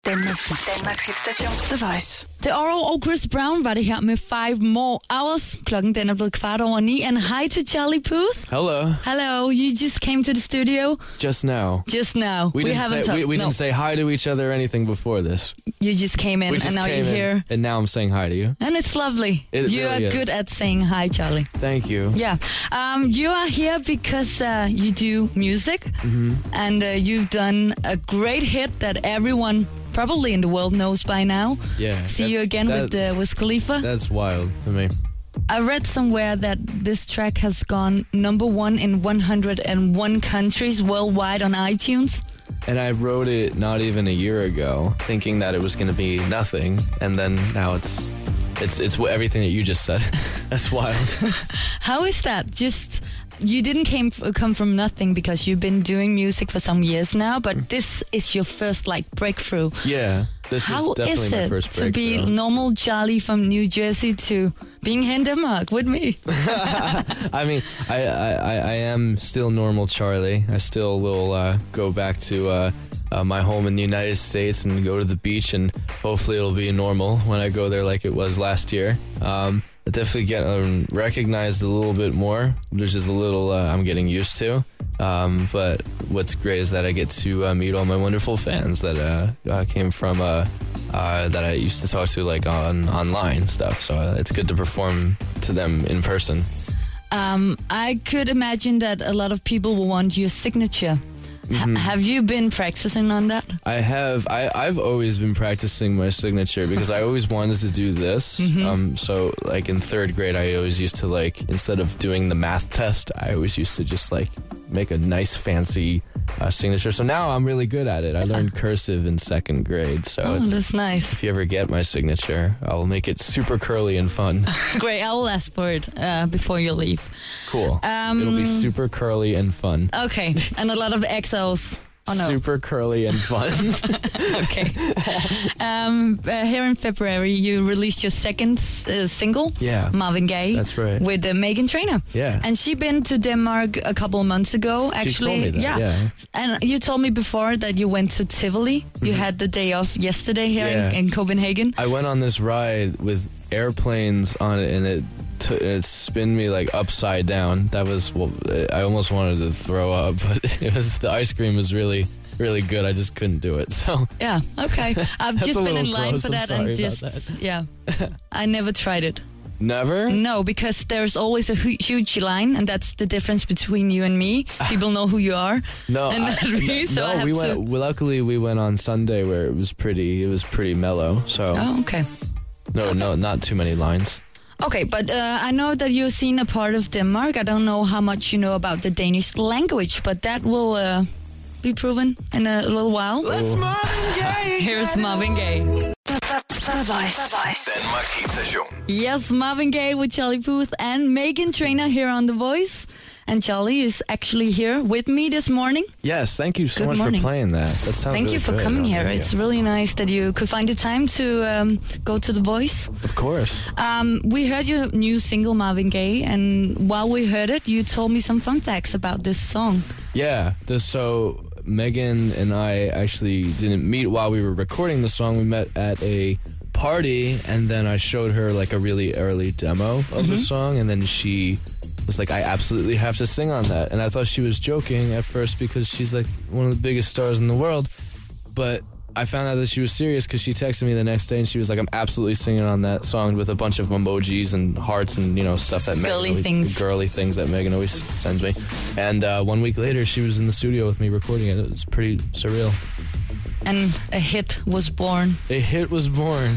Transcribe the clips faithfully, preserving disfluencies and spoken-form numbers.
Danmarks, Danmarks hitstation The Voice. The Oro og Chris Brown var det her med Five More Hours. Klokken den er blevet kvart over ni. And hi to Charlie Puth. Hello. Hello. You just came to the studio. Just now. Just now. We, we didn't, haven't say, we, we no. didn't say hi to each other or anything before this. You just came in we just and now came you're here. In, and now I'm saying hi to you. And it's lovely. It you really are is. good at saying hi, Charlie. Thank you. Yeah. Um, you are here because uh, you do music. Mm-hmm. And uh, you've done a great hit that everyone probably in the world knows by now. Yeah. See you again that, with uh, Wiz Khalifa. That's wild to me. I read somewhere that this track has gone number one in one hundred one countries worldwide on iTunes. And I wrote it not even a year ago, thinking that it was going to be nothing, and then now it's it's it's everything that you just said. That's wild. How is that? Just you didn't came come from nothing because you've been doing music for some years now, but this is your first like breakthrough. Yeah, this How is definitely is my it first to breakthrough. be normal Charlie from New Jersey to being here in Denmark with me? I mean, I, I, I am still normal Charlie. I still will uh, go back to uh, uh, my home in the United States and go to the beach, and hopefully it'll be normal when I go there like it was last year. Um, I definitely get um, recognized a little bit more, which is a little uh, I'm getting used to. Um, but what's great is that I get to uh, meet all my wonderful fans that uh, uh, came from uh, uh, that I used to talk to like on online stuff. So uh, it's good to perform to them in person. Um, I could imagine that a lot of people will want your signature. Mm-hmm. H- have you been practicing on that? I have. I, I've always been practicing my signature because I always wanted to do this. Mm-hmm. Um, so, like in third grade, I always used to like, instead of doing the math test, I always used to just like make a nice fancy uh, signature. So now I'm really good at it. I learned cursive in second grade. So oh, it's, that's nice. if you ever get my signature, I'll make it super curly and fun. Great. I will ask for it uh, before you leave. Cool. Um, It'll be super curly and fun. Okay. And a lot of X Os. Oh, no. Super curly and fun. Okay. Um, uh, here in February, you released your second uh, single, Yeah. Marvin Gaye. That's right. With uh, Meghan Trainor. Yeah. And she been to Denmark a couple of months ago, actually. She told me that, yeah. yeah. And you told me before that you went to Tivoli. Mm-hmm. You had the day off yesterday here Yeah. in, in Copenhagen. I went on this ride with airplanes on it, and it t- it spun me like upside down. That was, well, I almost wanted to throw up, but it was, the ice cream was really, really good. I just couldn't do it. So yeah, okay. I've That's just a been in little line gross. for I'm that sorry and about just that. yeah. I never tried it. Never? No, because there's always a hu- huge line, and that's the difference between you and me. People know who you are. No, and I, not me, so no. I have we to... went. Well, luckily, we went on Sunday where it was pretty. It was pretty mellow. So Oh, okay. no, okay. no, not too many lines. Okay, but uh, I know that you've seen a part of Denmark. I don't know how much you know about the Danish language, but that will uh, be proven in a little while. Let's Marvin Gaye. Here's Marvin Gaye. The Voice. Danmarks hitstation. Yes, Marvin Gaye with Charlie Puth and Meghan Trainor here on The Voice. And Charlie is actually here with me this morning. Yes, thank you so Good much morning. for playing that. That sounds Thank really you for good coming on here. radio. It's really nice that you could find the time to um, go to The Voice. Of course. Um, we heard your new single, Marvin Gaye, and while we heard it, you told me some fun facts about this song. Yeah, this, so Megan and I actually didn't meet while we were recording the song. We met at a party, and then I showed her like a really early demo of Mm-hmm. the song, and then she was like, I absolutely have to sing on that. And I thought she was joking at first because she's like one of the biggest stars in the world, but I found out that she was serious because she texted me the next day and she was like, I'm absolutely singing on that song, with a bunch of emojis and hearts and, you know, stuff that Megan Girly always, things. girly things that Megan always sends me. And uh, one week later, she was in the studio with me recording it. It was pretty surreal. And a hit was born. A hit was born.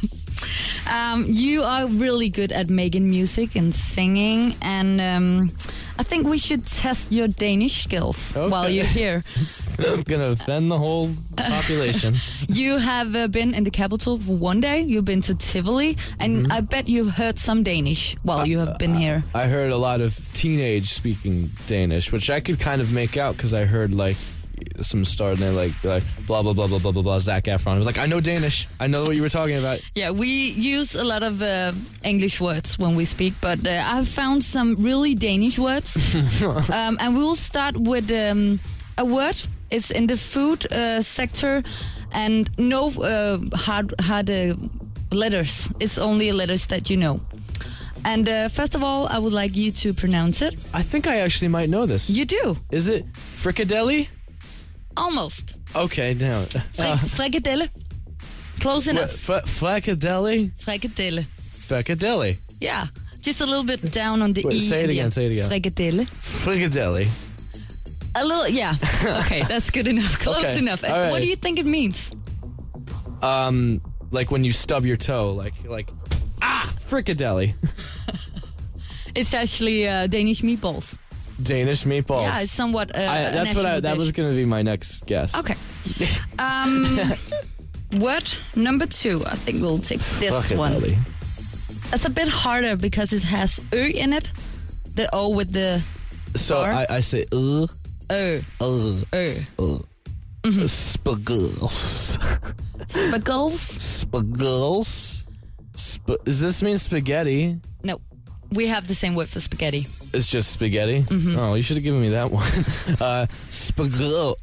Um, you are really good at making music and singing, and um, I think we should test your Danish skills Okay. while you're here. I'm going to offend the whole population. You have uh, been in the capital for one day. You've been to Tivoli, and Mm-hmm. I bet you've heard some Danish while you have been here. I heard a lot of teenage speaking Danish, which I could kind of make out because I heard like some stars and they're like, like blah blah blah blah blah blah blah Zac Efron. I was like, I know Danish. I know what you were talking about. Yeah, we use a lot of uh, English words when we speak, but uh, I've found some really Danish words. um, and we will start with um, a word. It's in the food uh, sector, and no uh, hard hard uh, letters. It's only letters that you know. And uh, first of all, I would like you to pronounce it. I think I actually might know this. You do. Is it fricadelle? Almost. Okay, now. Fre- frikadelle. Close enough. F- fricadelle? Frikadelle. Fricadelle. Yeah. Just a little bit down on the Wait, E. say it in the again, end. say it again. Frikadelle. Fricadelle. A little, yeah. Okay, that's good enough. Close Okay, enough. all What right. do you think it means? Um, like when you stub your toe, like, like, ah, fricadelle. It's actually uh, Danish meatballs. Danish meatballs. Yeah, it's somewhat uh, I, a that's what I, national that dish. was going to be my next guess. Okay. Um, word number two. I think we'll take this one. Fricadelle. It's a bit harder because it has Ö in it. The O with the So R. I, I say, uh, Ö. uh, Ö. uh. Mm-hmm. Spaggles. Spaggles? Spaggles. Sp- does this mean spaghetti? No. We have the same word for spaghetti. It's just spaghetti? Mm-hmm. Oh, you should have given me that one. uh, spaggle.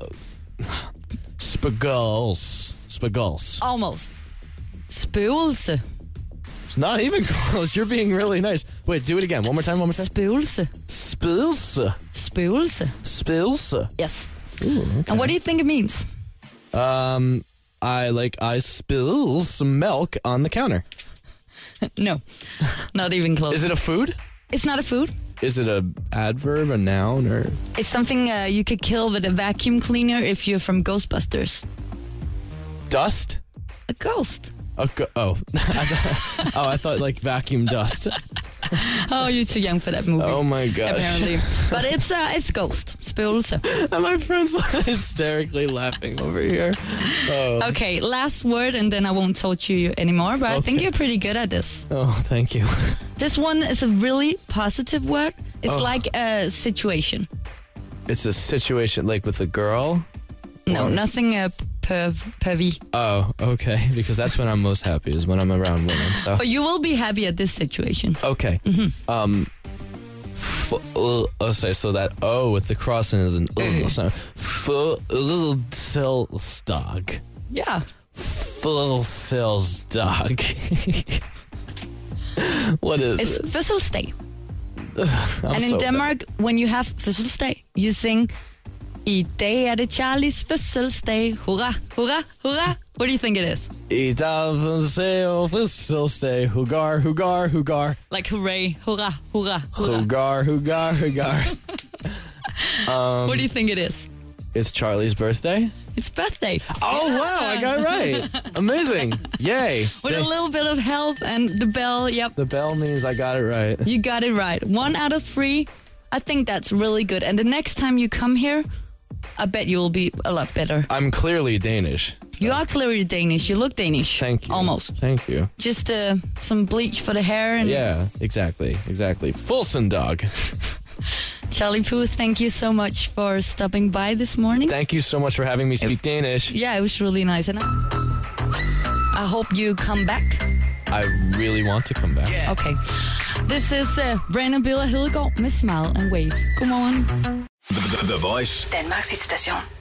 Spaggles. Spaggles. Almost. Spøgelse. It's not even close. You're being really nice. Wait, do it again. One more time, one more time. Spøgelse. Spilse. Spøgelse. Spilse. Yes. Ooh, okay. And what do you think it means? Um, I like I spill some milk on the counter. No. Not even close. Is it a food? It's not a food. Is it a adverb, a noun, or It's something uh, you could kill with a vacuum cleaner if you're from Ghostbusters. dust? A ghost. A go- oh, I thought, oh, I thought like vacuum dust. Oh, you're too young for that movie. Oh my gosh. Apparently. But it's uh, it's ghost. Spøgelse. And my friend's hysterically laughing over here. Oh, Okay, last word and then I won't torture you anymore, but I think Okay. you're pretty good at this. oh, thank you. This one is a really positive word. It's Oh. like a situation. It's a situation like with a girl. No, Or- nothing uh, perv, pervy. Oh, okay. Because that's when I'm most happy is when I'm around women. So But you will be happy at this situation. okay. Um. F- uh, oh, sorry, so that O with the crossing is an uh, so full cells dog. Yeah. Full cells dog. What is It's it? fødselsdag. I'm And in so Denmark, when you have fødselsdag, you sing, I dag er det Charlies fødselsdag. Hurra, hurra, hurra. What do you think it is? I dag for fødselsdag. Hugar, hugar, hugar. Like hooray, hurra, hurra, hurra. Hugar, hugar, hugar. What do you think it is? It's Charlie's birthday. It's birthday. Oh, wow, I got it right. Amazing. Yay. With a Thank- little bit of help and the bell, yep. The bell means I got it right. You got it right. One out of three. I think that's really good. And the next time you come here, I bet you will be a lot better. I'm clearly Danish. You are clearly Danish. You look Danish. Thank you. Almost. Thank you. Just uh, some bleach for the hair. And Yeah, exactly. Exactly. Fulson dog. Charlie Puth, thank you so much for stopping by this morning. Thank you so much for having me speak Danish. Yeah, it was really nice. And I, I hope you come back. I really want to come back. Okay. This is uh, Brandon Biller Hedegaard med Smile and Wave. Godmorgen. The, the, the Voice. Danmarks hitstation.